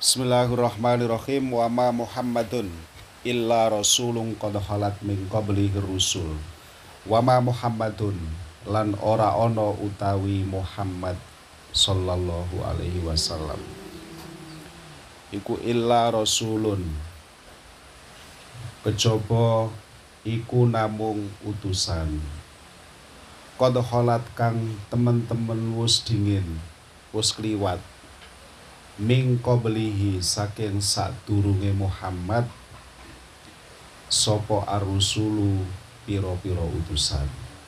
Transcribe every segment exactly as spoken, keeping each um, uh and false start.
Bismillahirrahmanirrahim. Wa ma Muhammadun illa rasulun qad khalat min qablihi rusul. Wa ma Muhammadun lan ora ana utawi Muhammad sallallahu alaihi wasallam iku illa rasulun kejaba iku namung utusan qad khalat kang temen-temen wis dingin wis kliwat min qablihi saking sadurunge Muhammad sapa ar-rusulu pira-pira utusan.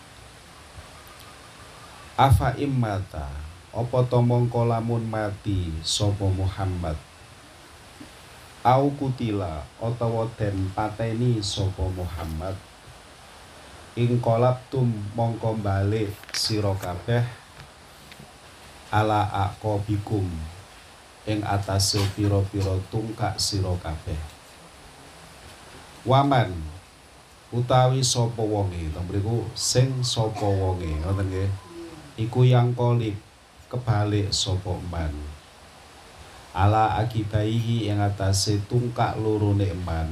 Afa immata apa to mongko lamun mati sapa Muhammad au kutila utawa den pateni sapa Muhammad ing qalabtum mongko balik sira kabeh ala aqabikum ing atase pira-pira tungkak sira kabeh. Waman utawi sapa wonge, lha mriku sing sapa wonge, ngoten nggih. Iku yang kolib kebalik sapa man. Ala akibaihi ing atase tungkak lorone man.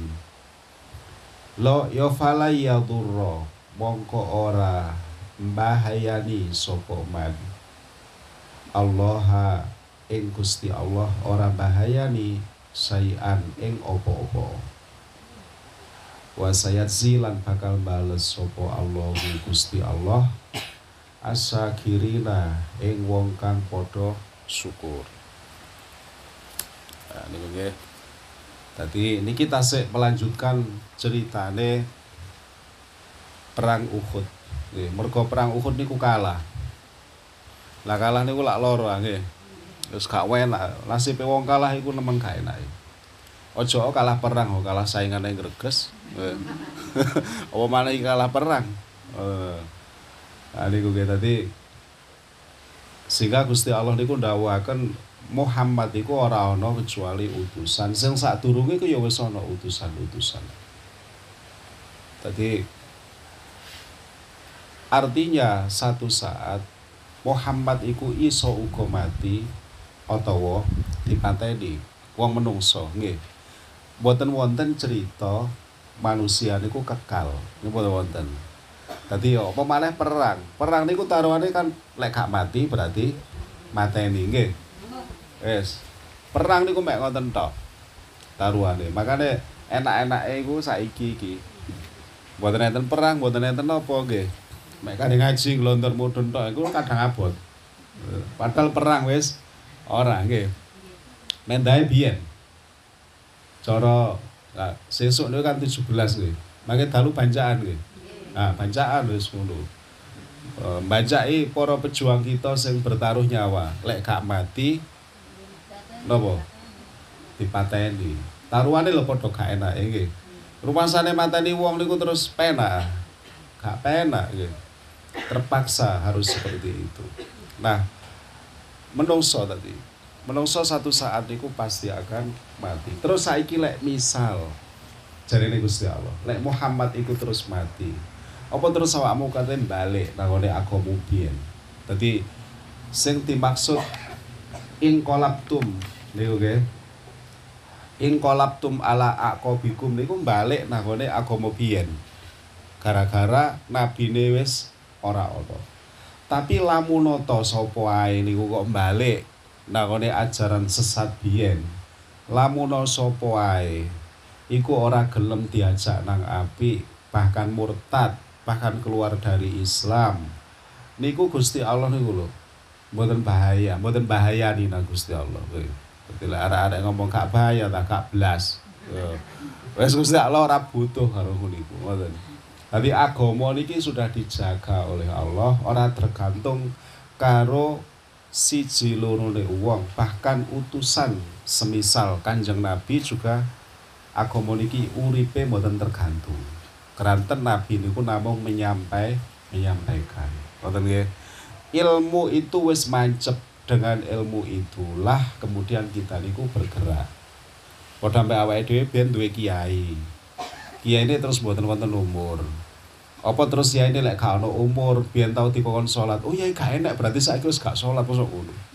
Lo ya fala yadurra mongko ora mbahayani sapa man. Allah ing Gusti Allah ora bahayani sayan ing apa-apa. Wa sayatzilan bakal bales sapa Allah Gusti Allah asyakirina ing wong kang padha syukur. Nah, niku nggih. Dadi niki tasik melanjutkan ceritane perang Uhud. Nggih, mergo perang Uhud niku kalah. Lah kalah niku lak loro nggih. Terus gak enak, nasibe wong kalah iku nemen gak enak. Ojo kalah perang, kalah saingane greges. Apa maneh kalah perang. Eh. Nah niku nggih dadi sehingga Gusti Allah niku ndawuhaken Muhammad iku ora ana kecuali utusan. Sing sadurunge iku ya wis ana utusan-utusan. Dadi artinya satu saat Muhammad iku iso uga mati utawa dipateni wong menungso nggih. Mboten wonten cerita manusia niku kekal. Niku mboten wonten. Dadi apa maneh perang. Perang niku taruhane kan lek gak mati berarti mateni nggih. Wis. Perang niku mek ngoten tok. Taruhane. Makane enak-enake iku saiki iki. Mboten enten perang, mboten enten apa nggih. Mek kane ngaji glontor mudhun tok iku kadang abot. Padahal perang wis ora nggih. Mendahe biyen. Cara nah, sesuk niku kan tujuh belas nggih. Mangke dalu bancaan nggih. Nah, bancaan wis ngono. E, bancaki para pejuang kita sing bertaruh nyawa, lek gak mati napa? Dipateni. Taruhane lho padha gak enake nggih. Rumasane mateni wong niku terus penak. Gak penak nggih. Terpaksa harus seperti itu. Nah, menungso tadi. Menungso satu saat niku pasti akan mati. Terus saiki lek misal jarene Gusti Allah, lek Muhammad iku terus mati. Apa terus awakmu katen balik nang ngene agama biyen. Dadi sing dimaksud in qalabtum niku nggih. In qalabtum ala aqabikum niku balik nang ngene agama biyen. Gara-gara nabine wis ora ana. Tapi lamun ta sapa ae niku kok balik nang ngene ajaran sesat biyen. Lamun sapa ae iku ora gelem diajak nang apik, bahkan murtad, bahkan keluar dari Islam. Niku Gusti Allah niku lho. Mboten bahaya, mboten bahayani nang Gusti Allah. Dadi lek arek-arek ngomong gak bahaya ta gak blas. Wes Gusti Allah ora butuh karo niku, ngoten. Tapi agama niki sudah dijaga oleh Allah, ora tergantung karo siji lorone wong, bahkan utusan semisal Kanjeng Nabi juga agama niki uripe mboten tergantung. Keranten Nabi niku namung menyampai menyampaikan. Ngoten nggih. Ilmu itu wis mancep, dengan ilmu itulah kemudian kita niku bergerak. Padha mbek awake dhewe ben duwe kiai. Kiai ini terus mboten wonten umur. Apa terus ya ini lek gak ono umur biyen tau dikon salat. Oh ya gak enak berarti saiki wis gak salat kok ngono.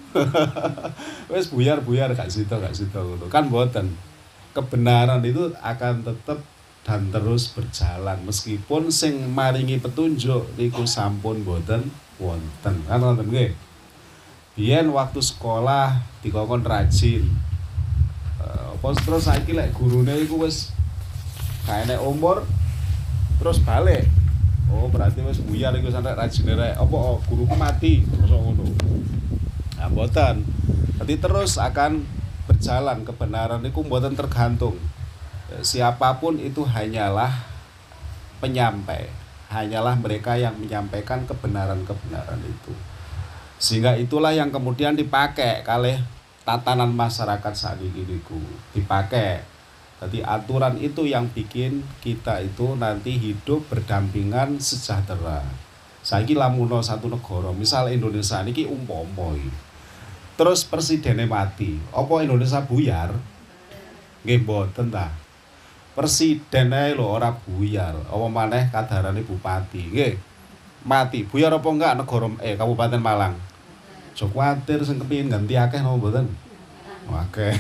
Wes buyar-buyar gak sida gak sida ngono. Kan mboten. Kebenaran itu akan tetap dan terus berjalan meskipun sing maringi petunjuk niku sampun boten wonten. Kan wonten nggih. Biyen waktu sekolah dikongkon rajin. Uh, apa terus saiki lek gurune iku wis gak enek umur terus balik. Oh, berarti wis buyar iku sampe rajine rek. Apa oh, guruku mati mosok ngono. Nah, mboten. Jadi terus akan berjalan kebenaran itu mboten tergantung. Siapapun itu hanyalah penyampai, hanyalah mereka yang menyampaikan kebenaran-kebenaran itu. Sehingga itulah yang kemudian dipakai kalih tatanan masyarakat saat ini dipakai. Jadi aturan itu yang bikin kita itu nanti hidup berdampingan sejahtera. Saiki lamuno satu negara, misal Indonesia niki umpama terus presidennya mati, apa Indonesia buyar? Nggih mboten ta. Presiden ae lho ora buyar, apa maneh kadarane bupati. Nggih. Mati, buyar apa enggak negara eh Kabupaten Malang? Aja kuwatir sing kepengin ganti akeh napa mboten? Akeh.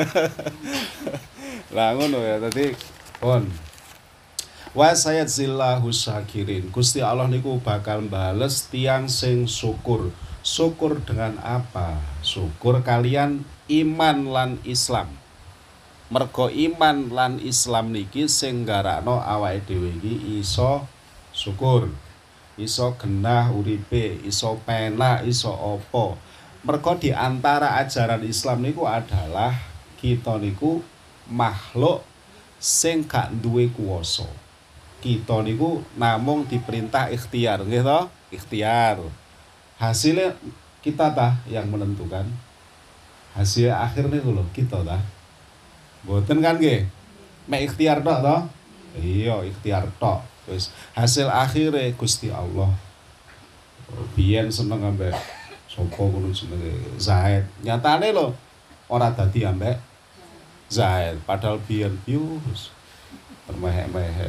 Lah ngono ya, dadi pun wa sayadzillahu syakirin. Gusti Allah niku bakal bales tiang sing syukur. Syukur dengan apa? Syukur kalian iman lan Islam. Mergo iman lan Islam niki sing nggarakno awake dhewe iki iso syukur. Iso genah uripe, iso penak, iso apa. Mergo di antara ajaran Islam niku adalah kita niku makhluk sing gak duwe kuwasa. Kita niku namung diperintah ikhtiar, nggih to? Ikhtiar. Hasilnya kita tah yang menentukan. Hasil akhirnya lho kita tah. Mboten kan nggih? Mek ikhtiar tok to? Iya, ikhtiar tok. Wis hasil akhirnya Gusti Allah. Biyen seneng ambek sapa ngono jenenge Zaid. Nyatane lho ora dadi ambek Zaid, padahal biyen bius permehek-mehek.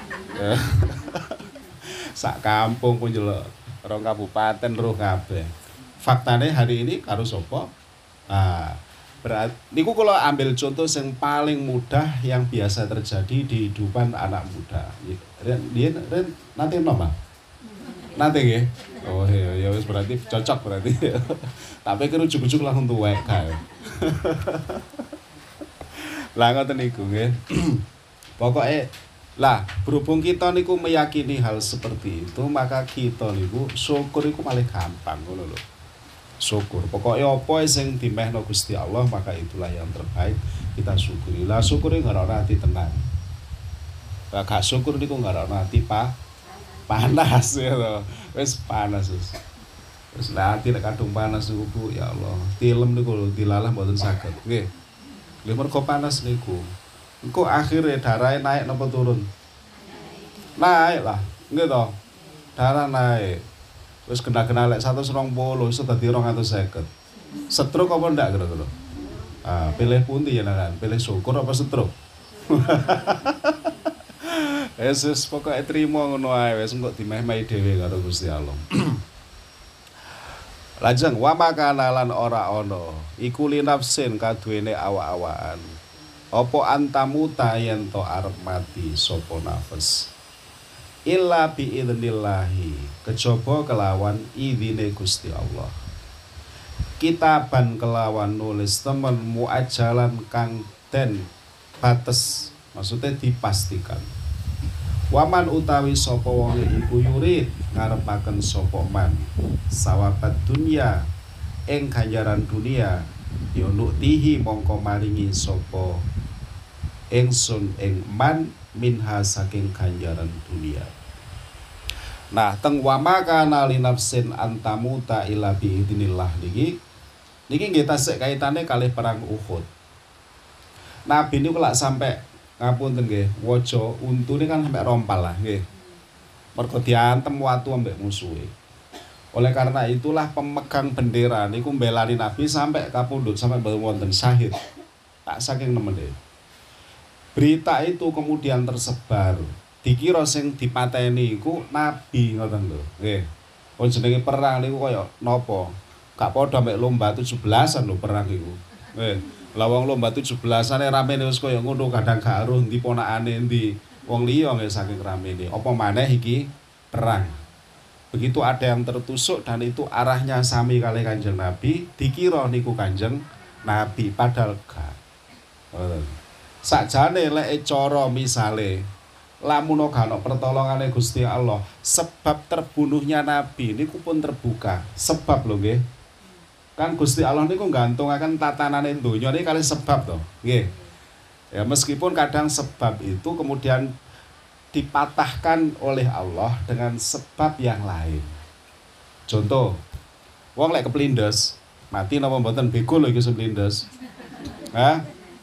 Sak kampung pun jelek. Rong kabupaten roh kabeh. Faktane hari ini karo sapa? Nah, berarti niku kula ambil contoh yang paling mudah yang biasa terjadi di kehidupan anak muda. Ren, ren, ren nanti napa? Nanti nggih. Oh iya, ya wis berarti cocok berarti. Tapi kira ujug-ujug langsung tuwek kae. Lah ngoten niku nggih. Pokoke lah, berhubung kita niku meyakini hal seperti itu, maka kita niku syukur niku malah gampang ngono lho. Syukur. Pokoknya apa sing dimehno Gusti Allah, maka itulah yang terbaik. Kita syukuri. Lah syukur iki ngarep ati tenan. Lah gak syukur niku ngarep ati pa panas ya lho. Wis panas wis. Wis lah ati nek kadung panas niku Bu, ya Allah. Tilem niku lho dilalah mboten saged. Nggih. Lha mergo panas niku. Engko akhirnya darahnya naik napa turun? Naik lah, nggih to. Darah naik. Wis kena-kena lek seratus dua puluh iso dadi dua ratus lima puluh. Stroke apa ndak kira-kira? Ah, pilih pundi ya kan? Pilih syukur apa stroke? Yesus pokoke trimo ngono ae wis engko dimeh-mehi dhewe karo Gusti Allah. Lajeng wa makana lan ora ana iku linafsin kaduwene awak-awakan. Apa antamuta yen to arep mati sapa nafas illa bi idnillahi kejaba kelawan idine Gusti Allah. Kitaban kelawan nulis temen muajalan kang den bates, maksudnya dipastikan. Waman utawi sapa wong iku yurid ngarepaken sapa man sawabat dunya ing ganjaran dunia ya nuktihi mongko maringi sapa ingsun ing man minha saking ganjaran dunia. Nah, teng wa makana li nafsin antamuta illa bi idznillah niki niki nggih tasik kaitane kalih perang Uhud. Nabi niku lak sampai ngapunten nggih, waja untune kan sampai rompal lah nggih. Mergo diantem watu ambek musuhe. Oleh karena itulah pemegang bendera niku mbelani Nabi sampai kapundhut sampai wonten syahid. Tak saking nemene. Berita itu kemudian tersebar. Dikira sing dipateni iku nabi ngoten lho. Nggih. Wong jenenge perang niku kaya napa? Gak padha mek lomba tujuh belasan lho perang iku. Eh, lah wong lomba tujuh belasane ramene wis kaya ngono kadang gak aruh ndi ponakane ndi wong liya nggih saking ramene. Apa maneh iki perang. Begitu ada yang tertusuk dan itu arahnya sami kali Kanjeng Nabi, dikira niku Kanjeng Nabi padahal gak. Sakjane lek cara misale lamun ora ana pertolongane Gusti Allah, sebab terbunuhnya Nabi niku pun terbuka. Sebab lho nggih. Kan Gusti Allah niku nggantungaken tatanane donya niki kali sebab to. Nggih. Ya meskipun kadang sebab itu kemudian dipatahkan oleh Allah dengan sebab yang lain. Contoh, wong lek keplindes, mati napa mboten bego lho iki seplindes. Hah?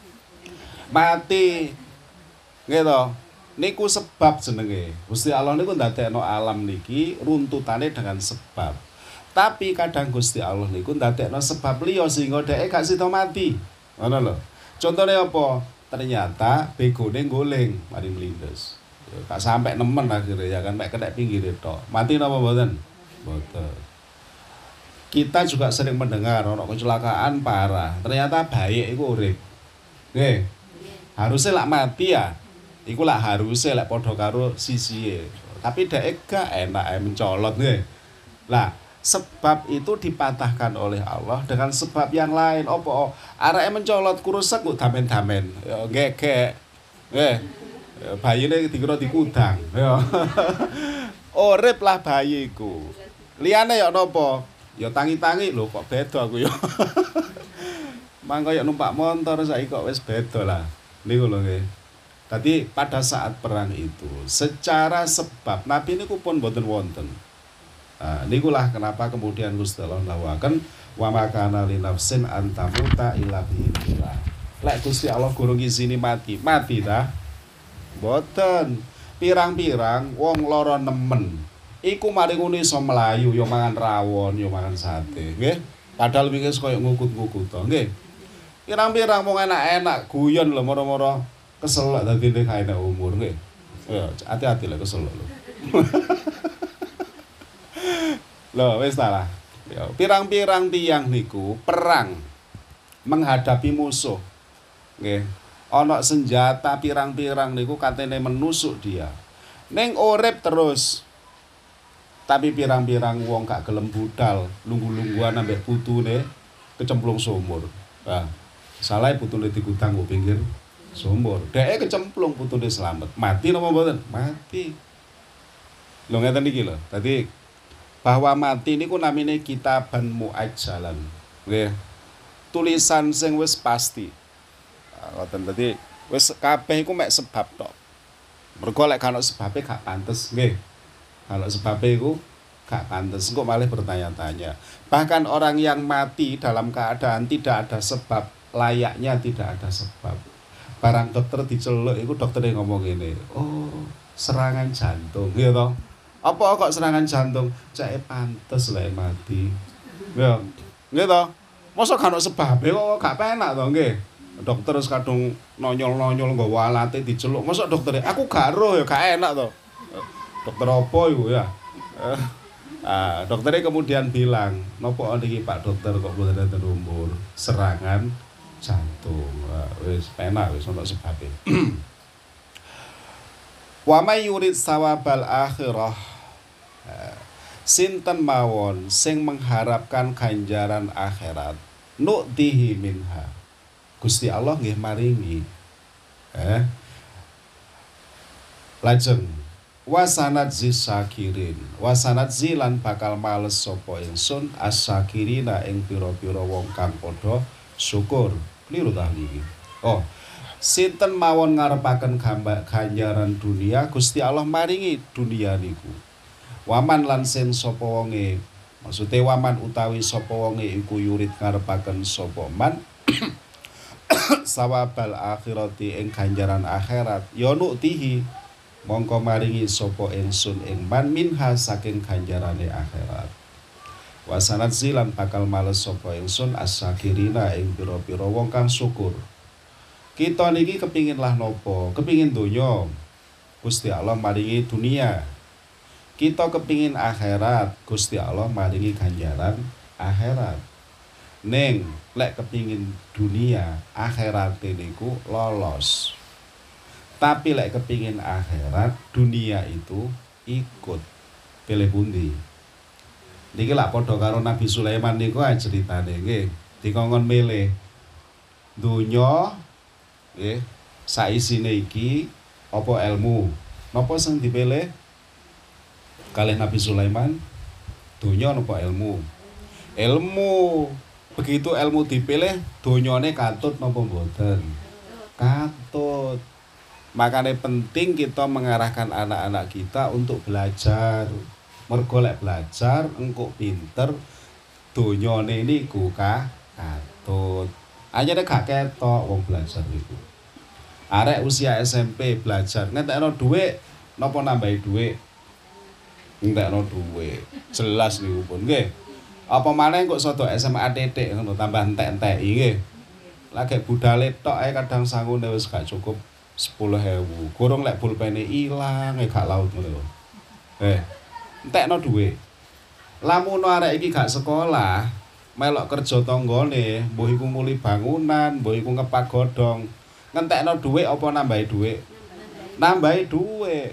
Mati. Nggih to. Niku sebab jenenge. Gusti Allah niku ndadekno alam niki runtutane dengan sebab. Tapi kadang Gusti Allah niku ndadekno sebab liya sehingga dhek gak sida mati. Ngono lho. Contone apa? Ternyata begone guling mari mlindes. Ya gak sampai nemen akhirnya ya kan mek kena pinggir tok. Mati napa mboten? Mboten. Kita juga sering mendengar ono kecelakaan parah. Ternyata baik iku urip. Nggih. Harusnya lak mati ya. Iku lak harusnya lak padha karo sisihe. Tapi dhek gak enak ae mencolot nggih. Lah sebab itu dipatahkan oleh Allah dengan sebab yang lain. Apa? Areke mencolot kurusek kok damen-damen. Ya gegek. Nggih. Bayine dikira dikudang. Ya. Urip lah bayi iku. Liyane ya napa? Ya tangi-tangi lho kok beda aku ya. Mangko ya numpak motor saiki kok wis beda lah. Niku lho nggih. Tadi pada saat perang itu secara sebab Nabi niku pun boten wonten. Nah, nikulah kenapa kemudian Gusti Allah nawakan wa makana li nafsin antamuta illa bi'illah. Lek Gusti Allah gurung izini mati, mati dah. Boten. Pirang-pirang wong lara nemen. Iku mari ngono iso mlayu, yo mangan rawon, yo mangan sate, nggih. Padahal wingi koyo ngukut-ngukut to, nggih. Pirang-pirang wong enak-enak guyon lho moro-moro keselak dadi nek enak umur, nggih. Ya, hati-hati lek keselak lho. Loh, wis ta lah. Ya, pirang-pirang tiyang niku perang menghadapi musuh. Nggih. Ana senjata pirang-pirang niku katene menusuk dia. Ning urip terus. Tapi pirang-pirang wong gak gelem budal, lunggu-lungguan ambek putune kecemplung sumur. Nah, salah putune digudang kok pinggir sumur. Dheke kecemplung putune slamet. Mati napa mboten? Mati. Lho ngeten iki lho. Dadi bahwa mati niku namine kitaban muajjalan. Nggih. Tulisan sing wis pasti. Ngoten dadi wis kabeh iku mek sebab tok. Mergo lek kana sebabe gak pantes, nggih. Kalau sebabe iku gak pantes, kok malah bertanya-tanya. Bahkan orang yang mati dalam keadaan tidak ada sebab, layaknya tidak ada sebab. Barang dokter diceluk iku doktere ngomong ngene, "Oh, serangan jantung." Nggih to? Apa kok serangan jantung? Cake pantes lek mati. Ya, nggih to? Mosok gak ono sebabe kok gak penak to, nggih. Dokter wis kadung nonyol-nonyol nggawa alate diceluk. Mosok doktere, "Aku gak roh ya gak enak to." Dokter apa iku ya? Ah, dokternya kemudian bilang, "Nopo niki Pak Dokter kok mboten enten umur? Serangan jantung." Wah, wis penak wis ono sebabe. Wa may yurid sawabal akhirah. Sinten mawon sing mengharapkan ganjaran akhirat, nu'tihi minha. Gusti Allah nggih maringi. Eh. Lajeng wasanat zisakirin wasanat zilan bakal males sapa ingsun asakirina ing pira-pira wong kang padha syukur. Kliru ta niki. Oh, sinten mawon ngarepaken ganjaran dunia, Gusti Allah maringi dunia niku. Waman lan sen sapa wonge, maksude waman utawi sapa wonge iku yurid ngarepaken sapa man sawabal akhirati ing ganjaran akhirat ya nuktihi mongko maringi sapa ingsun ing man minha saking ganjarane akhirat. Wasanat silan bakal males sapa ingsun as-sakirina ing pira-pira wong kang syukur. Kita niki kepingin lah nopo? Kepingin donya. Gusti Allah maringi dunia. Kita kepingin akhirat. Gusti Allah maringi ganjaran akhirat. Ning lek kepingin dunia, akhirat niku lolos. Tapi lek kepingin akhirat, dunia itu ikut. Pilih pundi? Niki lak padha karo Nabi Sulaiman niku ae ceritane nggih. Dikongkon milih dunya nggih, saisine iki apa ilmu? Napa sing dipilih? Kalih Nabi Sulaiman, dunya napa ilmu? Ilmu. Begitu ilmu dipilih, donyane katut napa mboten? Katut. Makanya penting kita mengarahkan anak-anak kita untuk belajar. Mergo lek belajar engko pinter, donyane niku ka katut. Anyane gak ketok wong belajar iku. Arek usia S M P belajar, ngentekno dhuwit napa nambahi dhuwit? Ngentekno dhuwit. Jelas niku pun nggih. Apa maneh kok sodo S M A titik ngono tambah entek-enteki nggih. Lagi budale tok ae kadang sangune wis gak cukup sepuluh ribu. Gorong lek pulpene ilang e gak laut ngono lho. Eh, entekno dhuwit. Lamun arek iki gak sekolah, melok kerja tanggane, mbuh iku muli bangunan, mbuh iku ngepak godhong. Ngentekno dhuwit apa nambahi dhuwit? Nambahi dhuwit.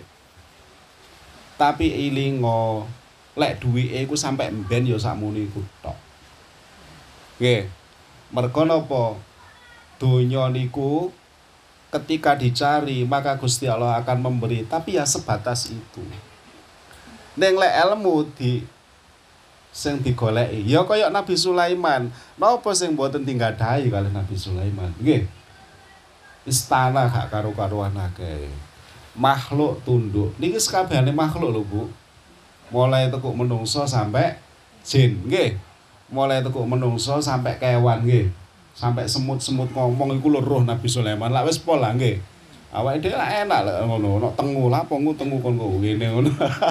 Tapi ilingo lek duwike iku sampe mben ya sakmene iku tok. Nggih. Mergo napa? Donya niku ketika dicari maka Gusti Allah akan memberi, tapi ya sebatas itu. Ning lek ilmu di sing digoleki ya kaya Nabi Sulaiman. Napa sing mboten tinggadahi kalih Nabi Sulaiman? Nggih. Istana gak karo-karuan akeh. Makhluk tunduk. Niki sakabehane makhluk lho, Bu. Mulai tekuk menungso sampai jin nggih. Mulai tekuk menungso sampai kewan nggih. Sampai semut-semut ngomong iku lho roh Nabi Sulaiman. Lah wis pola nggih. Awake dhewe lak enak lek ngono, nek tengu lah apa tengu kon kok ngene ngono.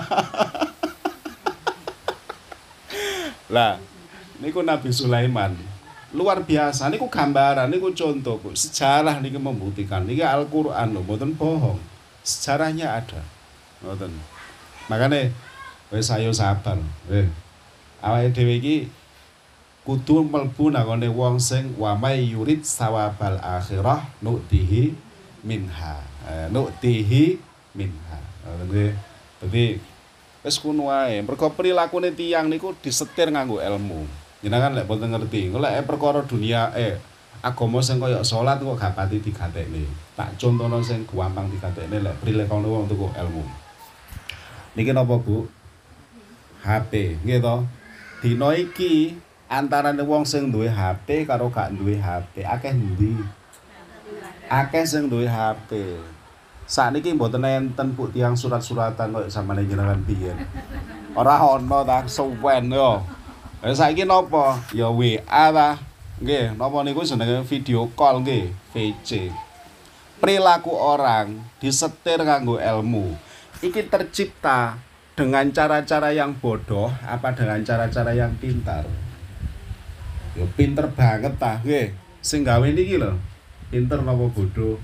Lah niku Nabi Sulaiman. Luar biasa niku gambaran niku contoh, Bu. Sejarah niki membuktikan. Niki Al-Qur'an lho, mboten bohong. Sejarahnya ada. Ngoten. Makane wis ayo sabar. Eh. Awake dhewe iki kudu mlebu nangone wong sing wa may yurid sawabal akhirah nu'tihi minha. Eh, nu'tihi minha. Nggih. Dadi wis kuno wae. Mergo prilakune tiyang niku disetir nganggo ilmu. Jenengan lek boten ngerti, lek perkara dunia eh agama sing kaya salat kok gak pati digatekne. Tak contohno sing gampang digatekne lek prilakune wong tuku ilmu. Niki napa, Bu? H P, nggih to. Dina iki antarane wong sing duwe H P karo gak duwe H P akeh endi? Akeh sing duwe H P. Sakniki mboten enten Bu tiyang surat-suratan koyo sampeyan jenengan biyen. Ora ana ta suwen yo. Lah saiki napa? Ya W A ta. Nggih, napa niku jenenge video call nggih, V C. Perilaku orang disetir nganggo ilmu. Iki tercipta dengan cara-cara yang bodoh apa dengan cara-cara yang pintar? Ya pinter banget ta, nggih. Sing gawe niki lho, pinter napa bodoh?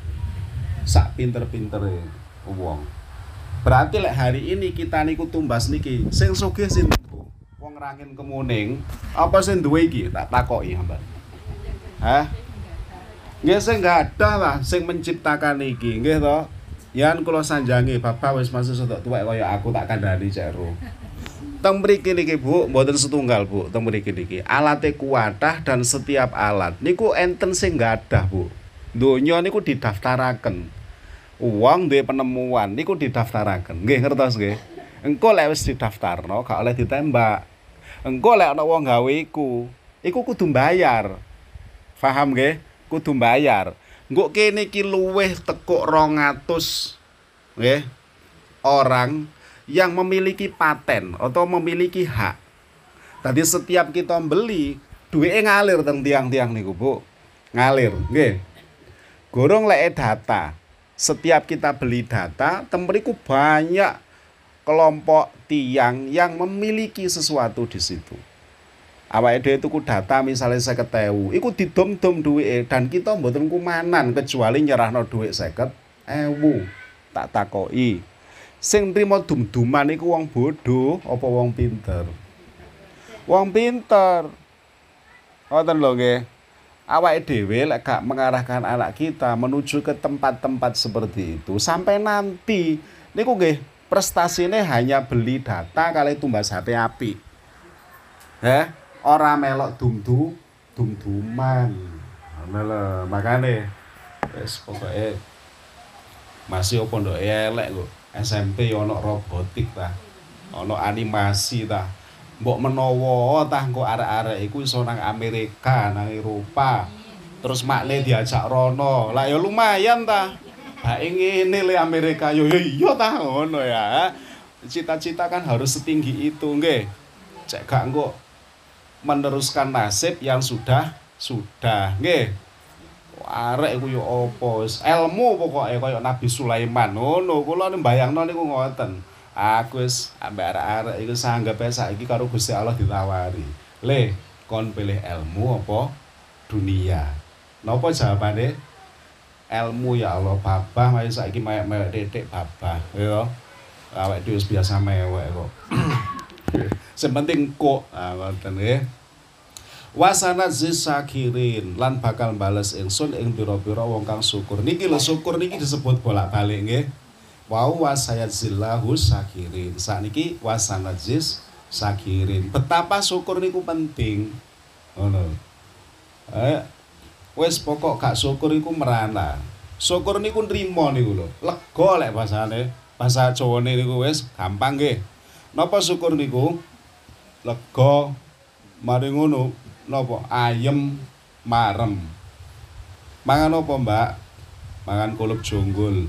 Sak pinter-pintere wong. Berarti lek hari ini kita niku tumbas niki, sing sugih sinten, Bu? Wong Rangin Kemuning, apa sing duwe iki? Tak takoki sampean. Hah? Nggih sing gadah lah sing menciptakan iki, nggih to? Yan kula sanjangi bapak wis masuk sedok tuwek kaya aku tak kandhani cek ro. Teng mriki niki Bu, mboten setunggal Bu, teng mriki niki. Alate kuwatah dan setiap alat niku enten sing gadah Bu. Donya niku didaftaraken. Wong duwe penemuan niku didaftaraken. Nggih ngertos nggih. Engko lek wis didaftarno gak oleh ditembak. Engko lek ana wong gawe iku, iku kudu mbayar. Paham nggih? Kudu mbayar. Engko kene iki luwih tekuk rong atus nggih orang yang memiliki paten atau memiliki hak. Tadi setiap kita beli, duwike ngalir teng tiang-tiang niku, Bu. Ngalir, nggih. Gorong lek data. Setiap kita beli data, teng mriku banyak kelompok tiang yang memiliki sesuatu di situ. Awake dhewe tuku data misalnya seket ewu, iku didom-dom duwike dan kita mboten kumanan kecuali nyerahno dhuwit seket ewu. Tak takoki. Sing nrimo dum-duman iku wong bodoh apa wong pinter? Wong pinter. Ngoten lho nggih. Awake dhewe lek gak mengarahkan anak kita menuju ke tempat-tempat seperti itu sampai nanti niku nggih prestasine hanya beli data kali tumbas H P apik. Heh, ora melok dum-dum dum-duman. Ngono lho, makane wis pokoke masih opo ndok elek kok. S M P yo ono robotik ta. Ono animasi ta. Mbok menawa tah engko arek-arek iku iso nang Amerika, nang Eropa. Terus makne diajak rono. Lah ya lumayan ta. Bae ngene le Amerika yo yo iya ta ngono ya. Cita-cita kan harus setinggi itu nggih. Cek gak engko meneruskan nasib yang sudah sudah nggih. Arek iku yo apa wis ilmu pokoke kaya Nabi Sulaiman ngono. Kula mbayangno niku ngoten. Aku wis ambek arek-arek iku sanggepe saiki karo Gusti Allah ditawari. Le, kon pilih ilmu apa dunia? Napa jawabane? Ilmu ya Allah, babah mari saiki mewek-mewek titik babah, ya. Awake dhewe wis biasa mewek kok. Sing penting kok, ah ngoten nggih. Wasana zisakirin lan bakal bales ingsun ing pira-pira wong kang syukur. Niki lho syukur niki disebut bolak-balik nggih. Wau wasayadzillahu sakirin. Sakniki wasanajis sakirin. Betapa syukur niku penting. Ngono. Eh wis pokok gak syukur iku merana. Syukur niku nrimo niku lho. Lega lek bahasane. Bahasa Jawane niku wis gampang nggih. Napa syukur niku? Lega. Mari ngono napa ayem marem. Mangan apa, Mbak? Mangan kulup jonggol.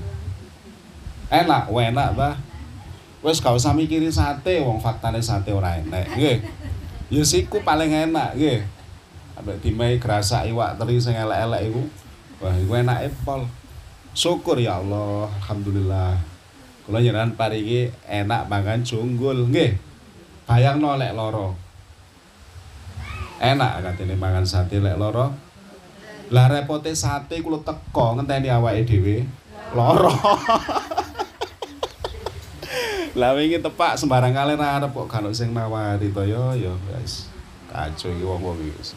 Enak, enak ta. Wis gak usah mikiri sate, wong faktane sate ora enak, nggih. Ya siku paling enak, nggih. Ambek dimehi grasak iwak teri sing elek-elek iku. Wah, iku enake pol. Syukur ya Allah, alhamdulillah. Kula njenengan paringi enak mangan jonggol, nggih. Bayangno lek lara. Enak katene mangan sate lek lara. Lah repote sate kulo teko ngenteni awake dhewe lara. Lah wingi tepak sembarang kali arep kok gak ono sing nawari to yo yo guys. Kacau iki wong-wong iki.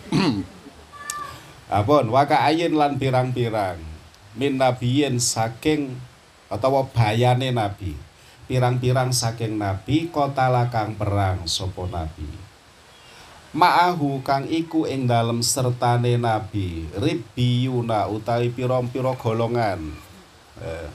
Apun waka ayin lan pirang-pirang min nabiyin saking utawa bayane nabi. Pirang-pirang saking nabi kota lakang perang sapa nabi. Ma'ahu kang iku ing dalem sertane nabi ribbiyuna utawi pira-pira golongan. Eh,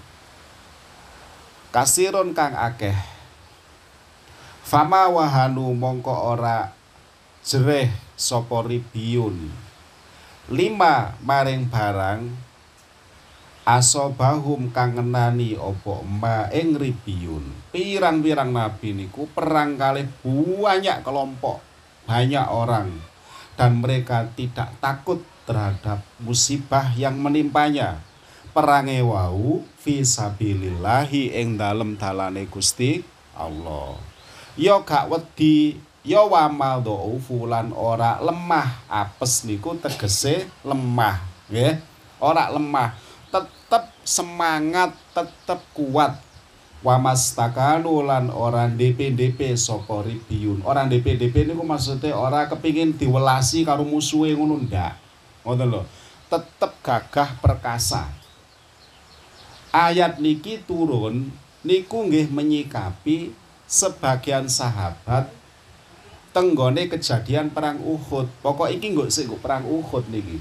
Kasiron kang akeh. Fama wahanu mongko ora jereh sapa ribiyun. Lima maring barang asobahum kang ngenani apa ma ing ribiyun. Pirang-pirang nabi niku perang kalih banyak kelompok, banyak orang, dan mereka tidak takut terhadap musibah yang menimpanya. Perange wau fisabilillahi ing dalem dalane Gusti Allah. Ya gak wedi, ya wamal dhaufu lan ora lemah. Apes niku tegese lemah, nggih. Ora lemah, tetep semangat, tetep kuat. Wamastakanu lan ora D P-D P sapa ribiyun. Ora D P-D P niku maksudnya ora kepingin diwelasi karo musuhe ngono ndak. Ngoten lho. Tetep gagah perkasa. Ayat niki turun niku nggih menyikapi sebagian sahabat tenggone kejadian perang Uhud. Pokok iki nggo sik perang Uhud niki.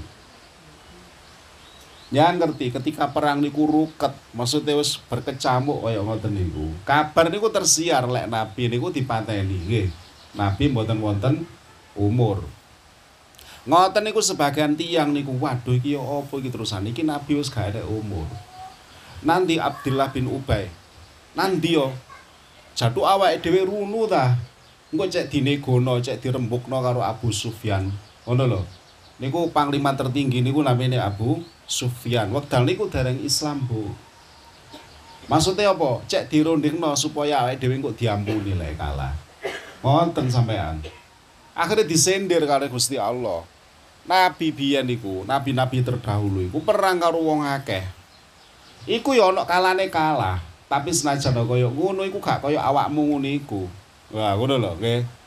Ya ngerti ketika perang niku ruket, maksudnya wis berkecamuk kaya ngoten niku. Kabar niku tersiar lek nabi niku dipateni nggih. Nabi mboten wonten umur. Ngoten niku sebagian tiyang niku waduh iki ya apa iki terusan iki nabi wis gak ada umur. Nanti Abdullah bin Ubay. Nanti yo jatuh awake dhewe runu ta. Engko cek dinegono, cek dirembukno karo Abu Sufyan. Ngono lho. Niku panglima tertinggi niku namine Abu Sufyan. Wekdal niku dereng Islam, Bu. Maksudnya apa? Cek dirundingno supaya awake dhewe engko diampuni lek kalah. Wonten sampean. Akhirnya disendir karo Gusti Allah. Nabi biyen niku, nabi-nabi terdahulu iku perang karo wong akeh. Iku ya ana kalane kalah. Tapi senajan kaya ngono iku gak kaya awakmu ngono iku. Wah, ngono lho, nggih.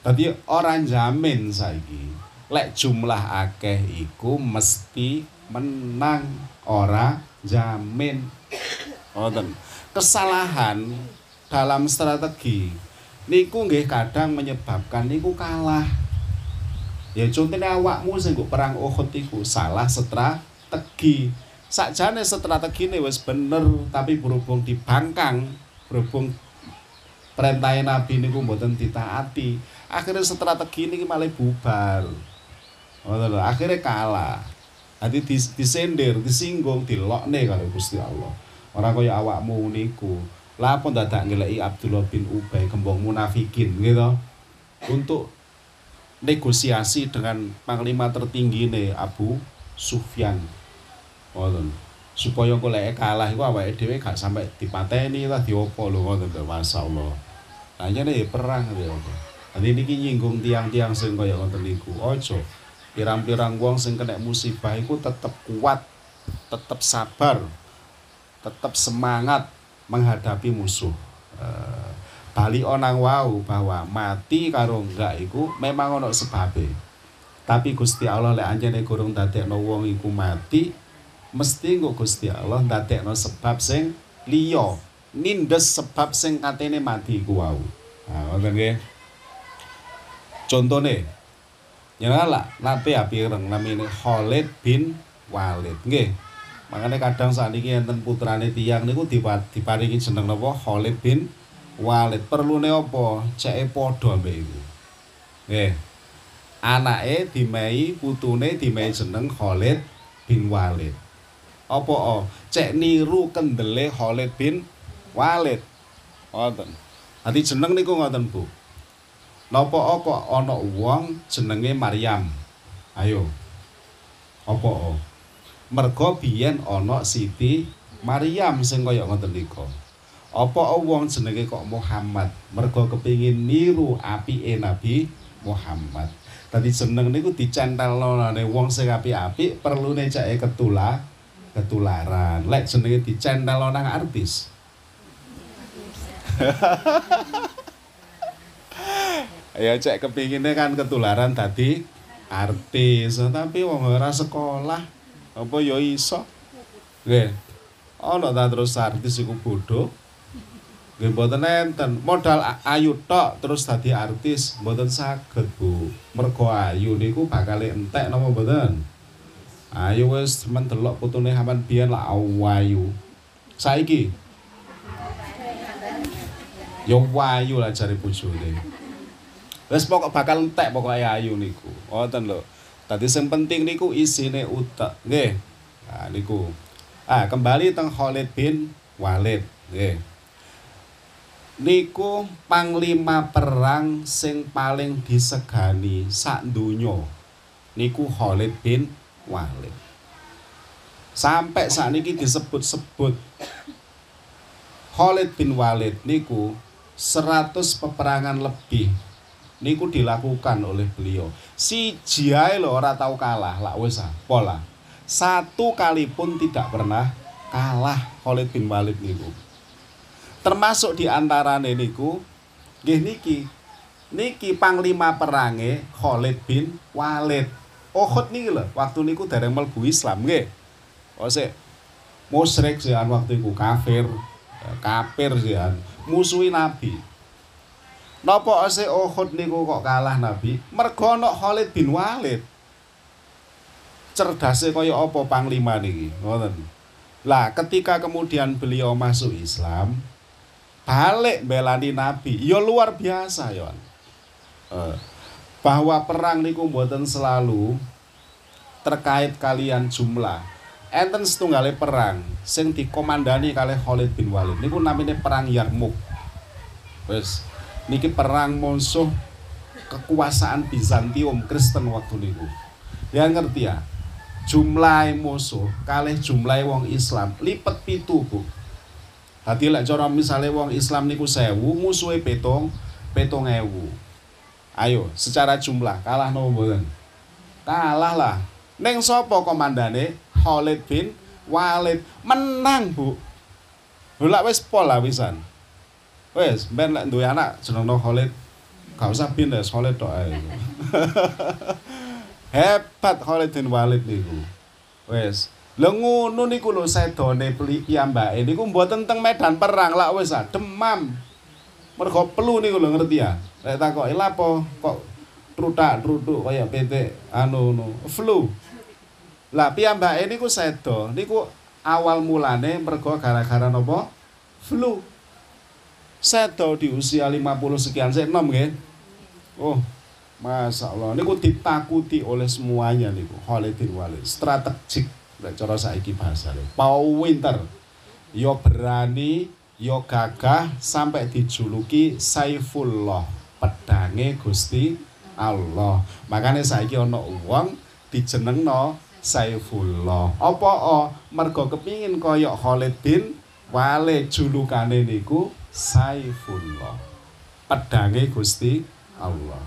Dadi ora jamin saiki. Lek jumlah akeh iku mesti menang, ora jamin. Ngoten. Kesalahan dalam strategi niku nggih kadang menyebabkan niku kalah. Ya contohnya awakmu sing nggo perang Uhud iku salah strategi. Sakjane strategine wis bener tapi berhubung dibangkang, berhubung perintah Nabi niku mboten ditaati, akhirnya strategi niki malah bubar. Ngoten lho, akhirnya kalah. Dadi disendir, disinggung, dilokne karo Gusti Allah. Ora kaya awakmu niku. Lah apa dadak ngeleki Abdullah bin Ubay kembang munafikin gitu. Untuk negosiasi dengan panglima tertinggi nih Abu Sufyan. Ngoten. Supaya kok lek kalah iku awake dhewe gak sampai dipateni ta diopo lho ngoten lho masyaallah. Lah nyene perang ya. Dadi niki nyinggung tiang-tiang sing kaya ngoten niku. Aja pirang-pirang wong sing kena musibah iku tetep kuat, tetep sabar, tetep semangat menghadapi musuh. Uh, bali onang wau bahwa mati karo enggak iku memang ono sebabe. Tapi Gusti Allah lek anjene gorong dadekno wong iku mati, mesti nggo Gusti Allah ndadekno sebab sing liya, nindes sebab sing katene mati iku wau. Nah, ngoten nggih. Contone ya lah, nabi api ireng namine Khalid bin Walid nggih. Makanya kadang sakniki enten putrane tiyang niku diparingi jeneng napa Khalid bin Walid. Perlune apa? Ceke padha mbek iku. Nggih. Anake dimehi putune dimehi jeneng Khalid bin Walid. Apa oh? Cek niru kendele Khalid bin Walid. Ngoten. Dadi jeneng niku ngoten, Bu. Napa kok ana wong jenenge Maryam? Ayo. Apa oh? Merga biyen ana Siti Maryam sing kaya ngoten niku. Apa wong jenenge kok Muhammad? Merga kepingin niru apike Nabi Muhammad. Dadi jeneng niku dicentelno nang wong sing apik-apik perlune cake ketula ketularan. Lek jenenge dicentelno nang artis. Ya cek kepingine kan ketularan tadi artis, tapi wong ora sekolah apa ya iso. Nggih. Ana ta terus artis iku bodho. Nggih mboten enten. Modal ayu tok terus dadi artis mboten saged, Bu. Mergo ayu niku bakal entek napa mboten? Ayu wis men delok putune sampean biyen lak ayu. Saiki yo wayu lah jare bojone. Wis pokok bakal entek pokoke ayu niku. Ngoten lho. Dadi sing penting niku isine utek. Nggih. Nah niku. Ah, kembali teng Khalid bin Walid. Nggih. Niku panglima perang sing paling disegani sak donya. Niku Khalid bin Walid. Sampai sakniki disebut-sebut Khalid bin Walid niku seratus peperangan lebih niku dilakukan oleh beliau. Siji ae lho ora tau kalah, lak wis pola. Satu kali pun tidak pernah kalah Khalid bin Walid niku. Termasuk di antarane niku nggih niki. Niki panglima perange Khalid bin Walid. Uhud niki lho, waktu niku dereng mlebu Islam nggih. Ose musyrik sian waktu iku kafir, kafir sian, musuhi Nabi. Napa ase Uhud niku kok kalah Nabi? Mergo ana Khalid bin Walid. Cerdase kaya apa panglima niki? Ngoten. Lah, ketika kemudian beliau masuk Islam, balik belani Nabi. Ya luar biasa, ya. Eh, bahwa perang niku mboten selalu terkait kalian jumlah. Enten setunggale perang sing dikomandani kalih Khalid bin Walid. Niku namine perang Yarmuk. Wis niki perang musuh kekuasaan Bizantium Kristen waktu niku. Ya ngerti ya. Jumlah musuh kalih jumlah wong Islam lipet pitu, Bu. Dadi lek cara misale wong Islam niku sewu, musuhe petong petong ewu. Ayo, secara jumlah kalah napa mboten? Kalah lah. Ning sapa komandane? Khalid bin Walid. Menang, Bu. Lha wis pol lah wisan. Wes, ben lek duwe anak jenengno Khalid Gak usah bin ya, Khalid tok ae. Hebat Khalid bin Walid niku. Wes, lha ngono niku lho sedone piyambake niku mboten teng medan perang lak wis ah demam. Mergo flu niku lho ngerti ya. Lek takoki lha apa kok trutak-trutuk kaya pitik anu no flu. Lah piyambake niku sedo niku awal mulane mergo gara-gara napa? Flu. Sedo di usia lima puluh sekian sik enom nggih. Oh, Masya Allah, niku ditakuti oleh semuanya niku. Khalid bin Walid, strategik, nek cara saiki bahasane. Pinter, yo berani, yo gagah, sampai dijuluki Saifullah, pedange Gusti Allah. Makanya saiki ana wong dijenengno Saifullah. Apa oh, mergo kepingin kaya Khalid bin Walid, julukane niku Saifullah, pedange Gusti Allah.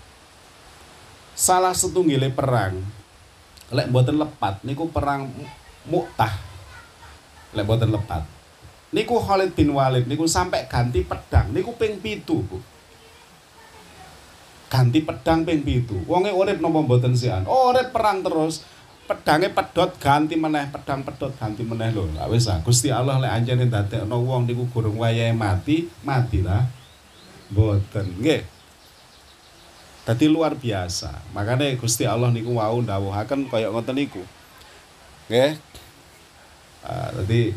Salah setunggile perang lek mboten lepat niku perang Mu'tah. Lek mboten lepat niku Khalid bin Walid niku sampai ganti pedang niku ping pitu, Bu. Ganti pedang ping pitu. Wonge urip napa mboten sian? Oh, urip perang terus. Pedange pedhot ganti meneh, pedang pedhot ganti meneh lho. Lah wis ah, Gusti Allah lek anjene ndadekno wong niku gurung wayahe mati, matilah. Mboten nggih. Dadi luar biasa. Makanya Gusti Allah niku wau ndawuhaken kaya ngoten niku. Nggih. Ah, dadi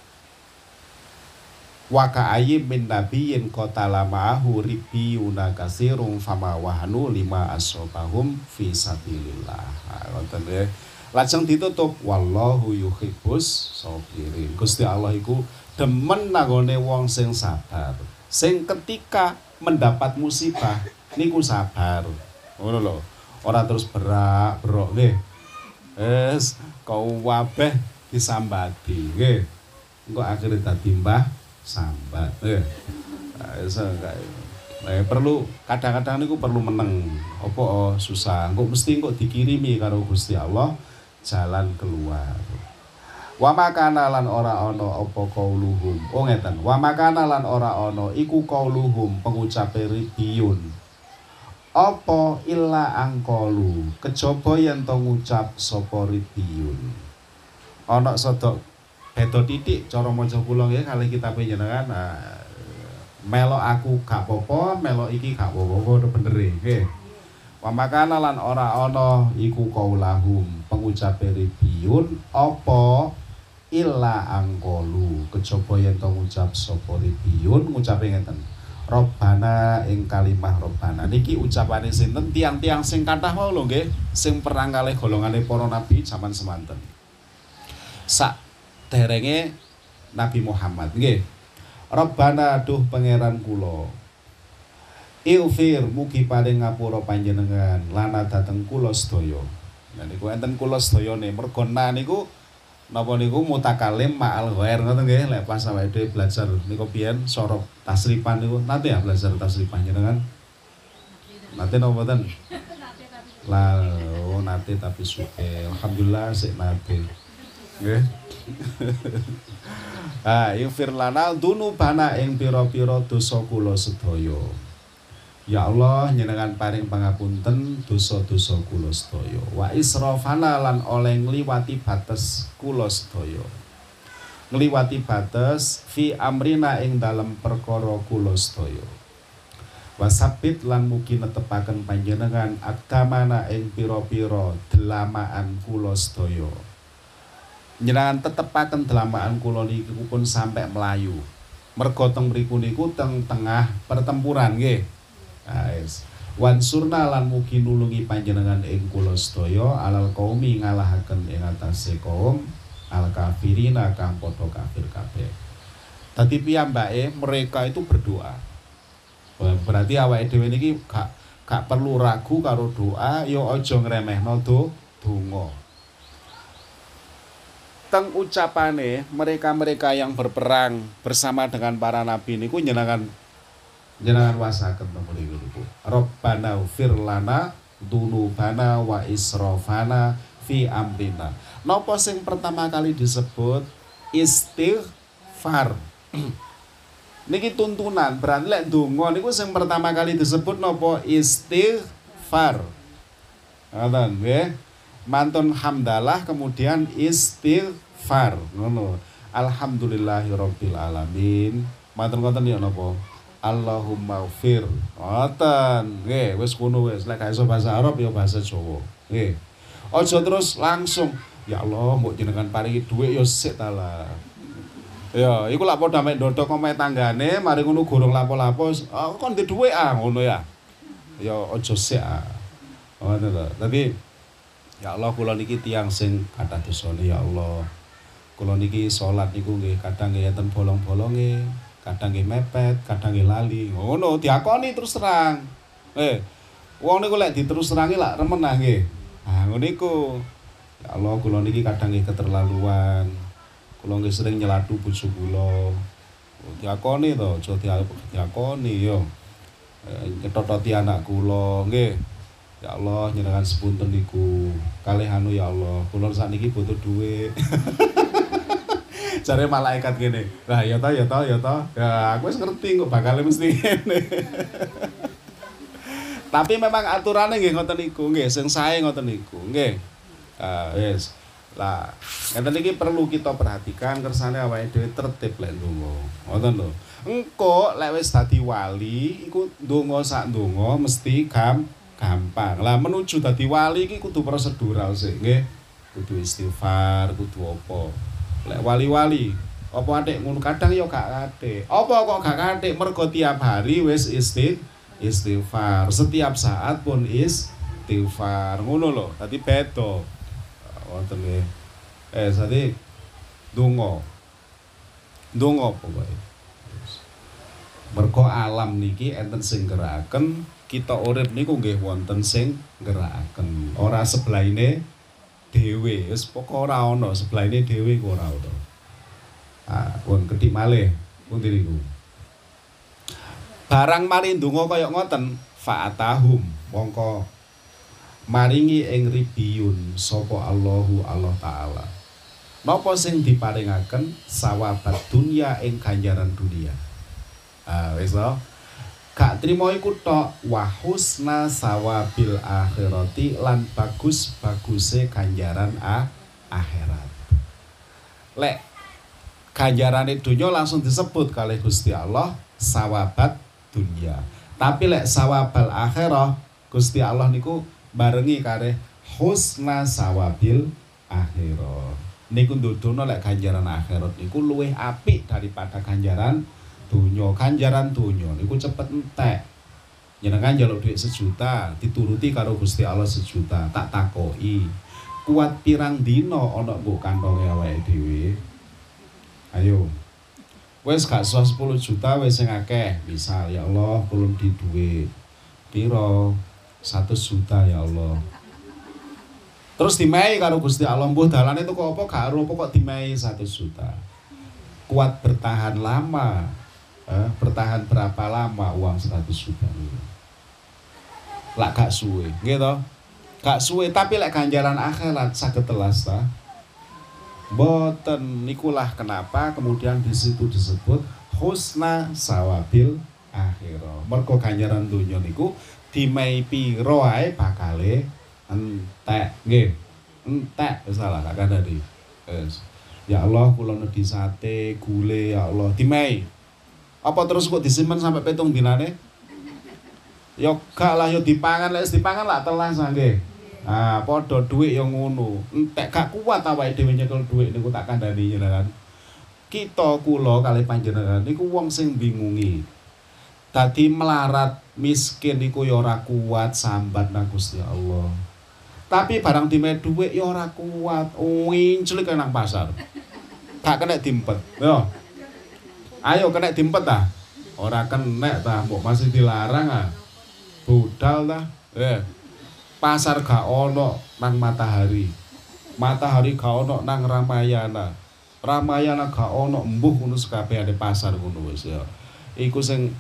wa ka'ayyim min nabiyyin qatala ma'ahu ribbiyuna katsirum fama wahanu lima asobahum fi sabilillah. Ah, ngoten nggih. Lajeng ditutup wallahu yuhibbus shabirin. Gusti Allah iku demen nanggone wong sing sabar. Sing ketika mendapat musibah niku sabar. Ngono lho. Ora terus berak-berok nggih. Wis kau wabeh disambati nggih. Engko akhire dadi mbah sambat. Nggih. Wis eh, perlu kadang-kadang niku perlu meneng. Apa oh, susah. Engko mesti engko dikirimi karo Gusti Allah jalan keluar. Wa makana lan ora ana apa kauluhum. Oh ngeten. Wa makana lan ora ana iku kauluhum pengucape ribiyun. Apa illa angkolu kejaba yen to ngucap sapa ribiyun. Ana sedok beda titik cara maca kula nggih kalih kitab jenengan. Nah, melok aku gak apa-apa, melok iki gak apa-apa bener nggih. Wa makana lan ora ana iku kaulahum pengucape ribiyun apa illa angkolu kejaba yen to ngucap sapa ribiyun ngucape ngeten Robbana ing kalimah Robbana niki ucapane sinten tiang-tiang sing kathah wae lho nggih sing perang kalih golongane para nabi zaman semanten sak derenge Nabi Muhammad nggih Robbana duh pangeran kula Ilfir mugi paring ngapura panjenengan lana dateng kula sedaya. Nah niku enten kula sedayane mergo niku napa niku mutakalim ma'al ghair ngoten nggih lek pas awake dhewe belajar niku biyen sorok tasrifan niku nate ya belajar tasrifan jenengan. Nate napa mboten? Lah oh nate tapi suke. Alhamdulillah sik nate. Nggih. Ah, ilfir lana dunubana ing pira-pira dosa kula sedaya. Ya Allah njenengan paring pangapunten dosa-dosa kula sedaya wa israfana lan oleh ngliwati bates kula sedaya ngliwati bates fi amrina ing dalem perkara kula sedaya wasabit lan mugi netepaken panjenengan akdamana ing pira-pira delamaan kula sedaya njenengan tetepaken delamaan kula niku pun sampai melayu mergo teng mriku niku teng tengah pertempuran nggih. Guys, wansurna lan mugi nulungi panjenengan ing kula sedaya alal qaumi ngalahaken ing atase kaum al kafirina kang padha kafir kabeh. Dadi piyambake mereka itu berdoa. Berarti awake dhewe niki gak gak perlu ragu karo doa, ya aja ngremehno do donga. Teng ucapane mereka-mereka yang berperang bersama dengan para nabi niku njenengan jenengan wasaken napa niku Rabbana ufir lana dunubana wa israfana fi amrina. Napa sing pertama kali disebut istighfar. Niki tuntunan, berarti lek donga niku sing pertama kali disebut napa istighfar. Ngoten nggih. Mantun hamdalah kemudian istighfar. Ngono. Alhamdulillahirabbil alamin. Mantun ngoten ya napa? Allahumma ghfir. Ngoten. Nggih, wis ngono wis. Lek gak iso bahasa Arab ya bahasa Jawa. Nggih. Aja terus langsung, ya Allah, mbok jenengan paringi dhuwit ya sik ta lah. Ya, iku lak padha mek ndodok omahe tanggane, mari ngono gorong lapo-lapo, oh, kon ndek dhuwit ah ngono ya. Ya aja sik ah. Ngono lho. Tapi ya Allah kula niki tiyang sing kathah dosane ya Allah. Kula niki salat niku nggih kadang nggih enten bolong-bolonge, kadang nggih mepet, kadang nggih lali. Ngono diakoni terus terang. Eh, wong niku lek diterus terangi lak remen ah nggih. Ah ngono iku. Ya Allah kula niki kadang nggih keterlaluan. Kula nggih sering nyelatu bojo kula. Diakoni to, aja diakoni yo. Nyetototi anak kula, nggih. Ya Allah njenengan sepunten niku. Kalih anu ya Allah, kula sakniki butuh dhuwit. Jare malaikat ngene. Lah ya ta ya ta ya ta. Ya aku wis ngerti kok bakal mesti ngene. Tapi memang aturannya nggih ngoten niku, nggih sing sae ngoten niku, nggih. Ah wis. Lah, ngeten iki perlu kita perhatikan kersane awake dhewe tertib lek ndonga. Ngoten lho. Engko lek wis dadi wali iku ndonga sak ndonga mesti gam gampang. Lah menuju dadi wali iki kudu prosedural sik, nggih. Kudu istighfar, kudu apa. Lek wali-wali, apa atik ngono kadang ya gak atik. Apa kok gak atik? Mergo tiap hari wis isti istighfar. Setiap saat pun istighfar. Ngono lho. Dadi beda. Wonten nggih. Eh sate donga. Donga pokoke. Mergo alam niki enten sing gerakaken, kita urip niku nggih wonten sing gerakaken. Ora sebelaine dhewe, wis pokok ora ana sebelaine dhewe kok ora ana. Ah, pun kedik malih pundi niku. Barang mari ndonga kaya ngoten, fa'atahum mongko maringi ing ribiyun sapa Allahu Allah taala. Napa sing diparingaken sawabat dunya ing ganjaran dunia. Ah wis lho. Gak trimo iku tok wa husna sawabil akhirati lan bagus-baguse ganjaran a akhirat. Lek ganjarane dunya langsung disebut kalih Gusti Allah sawabat dunya. Tapi lek sawabal akhirah Gusti Allah niku barengi kare husna sawabil akhirah. Niku ndudono lek ganjaran akhirat niku luwih apik daripada ganjaran dunya. Ganjaran dunya niku cepet entek. Jenengan njaluk dhuwit sejuta, dituruti karo Gusti Allah sejuta. Tak takoki, kuat pirang dina ana mbok kantonge awake dhewe? Ayo. Wis gak sepuluh juta wis sing akeh. Misal ya Allah, kula di dhuwit pira? satu juta ya Allah. Terus dimehi karo Gusti Allah, mbuh dalane itu kok apa gak ero kok dimehi satu juta. Kuat bertahan lama. Eh, bertahan berapa lama uang seratus juta niku? Lak gak suwe, nggih to? Gak suwe, tapi lek ganjaran akhirat saged telas ta. Mboten nikulah kenapa kemudian di situ disebut husna sawabil akhirah. Mergo ganjaran donya niku dimehi pira ae bakale entek nggih. Entek wis salah gak kandhani. Wis. Ya Allah kula nedhi sate, gule ya Allah dimehi. Apa terus kok disimpen sampai pitung dinane? Ya gak lah ya dipangan, lek dipangan lak telas nggih. Ah padha dhuwit ya ngono. Entek gak kuat awake dhewe nyekel dhuwit niku tak kandhani jenengan. Kita kula kalih panjenengan niku wong sing bingungi. Dadi melarat miskin niku ya ora kuat sambat nang Gusti Allah. Tapi barang dimehi dhuwit ya ora kuat, winclik nang pasar. Gak kena dimpet. Yo. Ayo kena dimpet ta? Ora kena ta, mbok masih dilarang ah. Budal ta? Eh. Pasar gak ono nang Matahari. Matahari gak ono nang Ramayana. Ramayana gak ono mbuh ngono sekabehane pasar ngono wis ya. Iku sing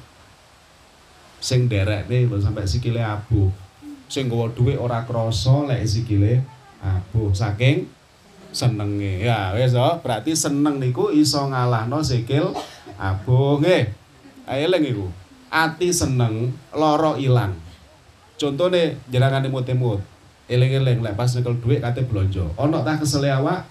sing derekne lho sampai sikile abuh. Sing nggawa dhuwit ora krasa lek sikile abuh saking senenge. Ya wis to, berarti seneng niku iso ngalahno sikil abuh nggih. Eling iku. Ati seneng, lara ilang. Contone jenengane mut-mut. Eling-eling lek pas nyekel dhuwit kate blonjo. Ana ta kesele awak?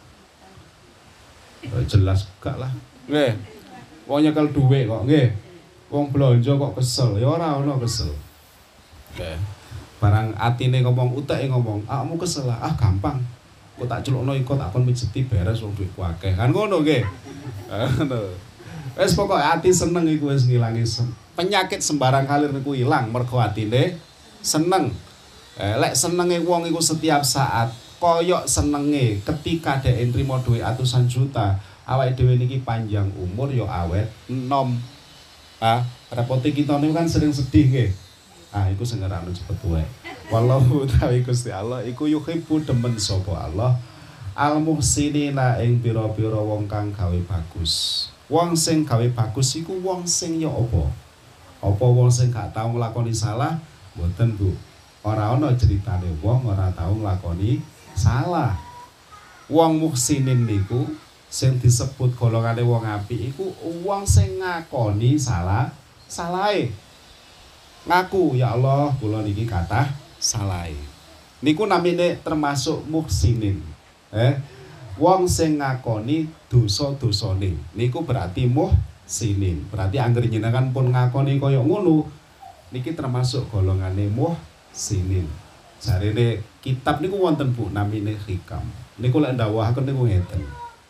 Oh, jelas gak lah. Nggih. Wong nyekel dhuwit kok, nggih. Wong blonjo kok kesel, ya ora ana kesel. Nggih. Barang atine ngomong, uteke ngomong, "Awakmu kesel lah." Ah, gampang. Kok tak celukno iko tak kon mijeti beres wong dhuwitku akeh. Kan ngono nggih. Ngono. Wis pokoke ati seneng iku wis ngilangi penyakit sembarang kalir niku ilang mergo atine seneng. Eh, lek senenge wong iku setiap saat koyok senenge ketika dhek nrimo dhuwit atusan juta, awake dhewe niki panjang umur yo awet enom. Ah, repote kita niku kan sering sedih nggih. Ah, iku sing ngerakno cepet tuwek. Wallahu ta'ala Gusti Allah iku yuhibbu demen sapa Allah al muhsinina ing pira-pira wong kang gawe bagus. Wong sing gawe bagus iku wong sing yo apa? Apa wong sing gak tau nglakoni salah? Mboten, Bu. Ora ana ceritane wong ora tau nglakoni salah. Wong muhsinin niku sing disebut golongane wong apik iku wong sing ngakoni salah salahe. Ngaku, ya Allah, kula niki kathah salahe. Niku namine termasuk muhsinin. Eh, wong sing ngakoni dosa-dosane. Niku berarti muhsinin. Berarti anggere jenengan pun ngakoni kaya ngono, niki termasuk golongane muhsinin. Jarene kitab niku wonten Bu namine hikam. Niku lek ndawuhaken niku ngeten.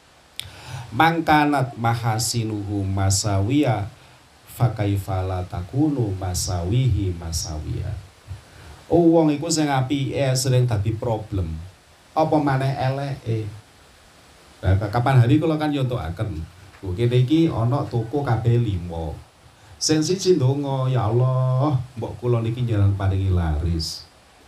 Mangkanat mahasinuhu masawiya fakaifala takunu masawihi masawiya. Oh, wong iku sing apike sering dadi problem. Apa maneh eleke. Nah, kapan hari kula kan nyontokaken. Bu kene iki ana toko kabeh lima. Sing siji ndonga, ya Allah, mbok kula niki njenengan paringi laris.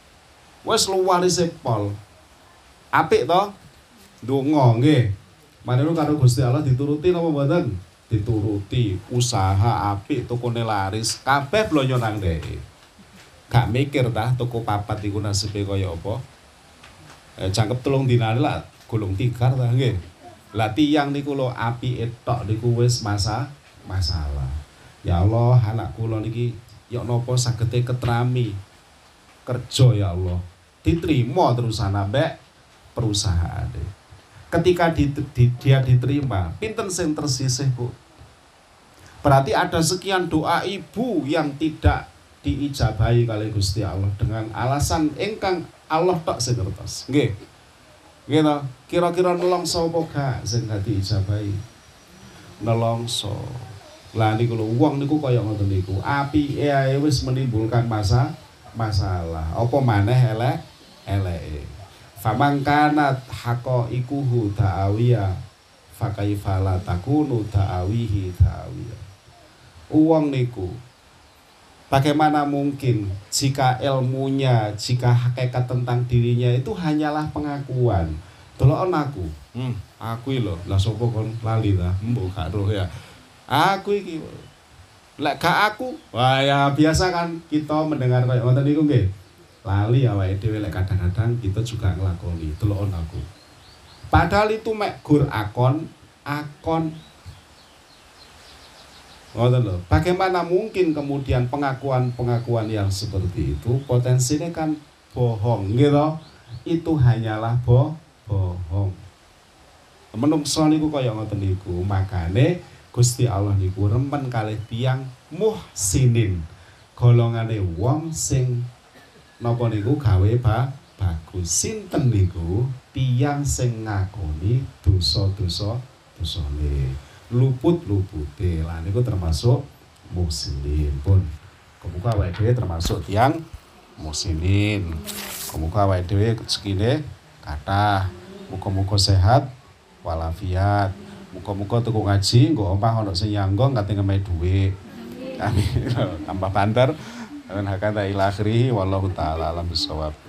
Wes luwarise pol. Apik to? Ndonga nggih. Maneno karo Gusti Allah dituruti napa mboten? Dituruti. Usaha apik tokone laris, kabeh blonyo nang dhek. Gak mikir ta toko papat iku nasibe kaya apa? Eh jangkep telung dinane lah gulung tikar ta nggih. Lah tiyang niku lho apike tok niku wis masa masalah. Ya Allah, anak kula niki ya napa sagete ketrami kerja ya Allah. Diterima terusan ambek perusahaane. Ketika di, di, dia diterima, pinten sing tersisih, Bu? Berarti ada sekian doa ibu yang tidak diijabahi kali Gusti Allah dengan alasan ingkang Allah tok sing ngertos. Nggih. Nggih to, kira-kira nelongso apa gak sing gak diijabahi? Nelongso. Lah niku lho wong niku kaya ngoten niku. Apike ae wis menimbulkan masa masalah. Apa maneh elek eleke. Famangkanat haqaiquhu ta'awiyah fakaifala takunu ta'awihi ta'awiyah. Uang niku bagaimana mungkin jika ilmunya, jika hakikat tentang dirinya itu hanyalah pengakuan. Delokon aku. Hmm, aku lho, lah sapa kon lali ta? Mbok gak roh ya. Aku iki. Lek gak aku, wah ya biasa kan kita mendengar kayak ngoten niku nggih. Lali awake dhewe lek kadang-kadang kita juga nglakoni delokon aku. Padahal itu mek gur akon, akon. Ngoten lho. Bagaimana mungkin kemudian pengakuan-pengakuan yang seperti itu potensinya kan bohong, gitu. Itu hanyalah boh bohong. Menungso niku kaya ngoten niku, makane Gusti Allah niku remen kalih tiyang muhsinin. Golongane wong sing napa niku gawe ba bagus. Sinten niku? Tiyang sing ngakoni dosa-dosa dosane. Luput-lupute. Lah niku termasuk muhsinin pun. Muga awake dhewe termasuk tiyang muhsinin. Muga awake dhewe rezekine kathah. Muga-muga sehat walafiat. Muga-muga tuku ngaji nggo omah ana sing nyanggo kate ngemehi dhuwit. Amin. Tambah banter. Dan hakata ila akhirih wallahu taala alam bisawab.